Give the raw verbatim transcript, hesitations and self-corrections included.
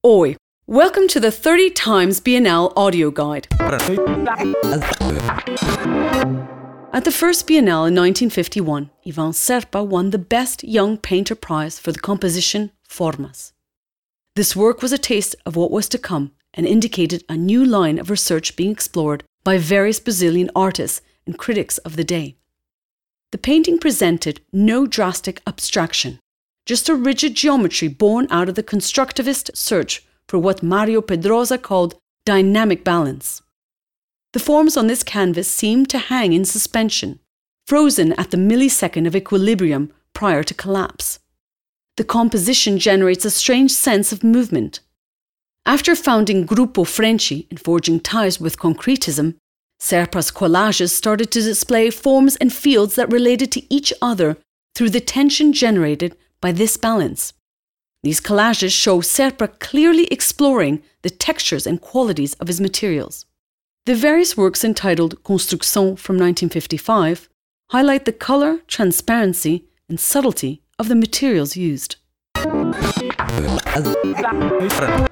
Oi! Welcome to the thirty times Bienal audio guide. At the first Bienal in nineteen fifty-one, Ivan Serpa won the Best Young Painter Prize for the composition Formas. This work was a taste of what was to come and indicated a new line of research being explored by various Brazilian artists and critics of the day. The painting presented no drastic abstraction, just a rigid geometry born out of the constructivist search for what Mario Pedrosa called dynamic balance. The forms on this canvas seemed to hang in suspension, frozen at the millisecond of equilibrium prior to collapse. The composition generates a strange sense of movement. After founding Grupo Frente and forging ties with concretism, Serpa's collages started to display forms and fields that related to each other through the tension generated by this balance. These collages show Serpa clearly exploring the textures and qualities of his materials. The various works entitled Construção from nineteen fifty-five highlight the colour, transparency and subtlety of the materials used.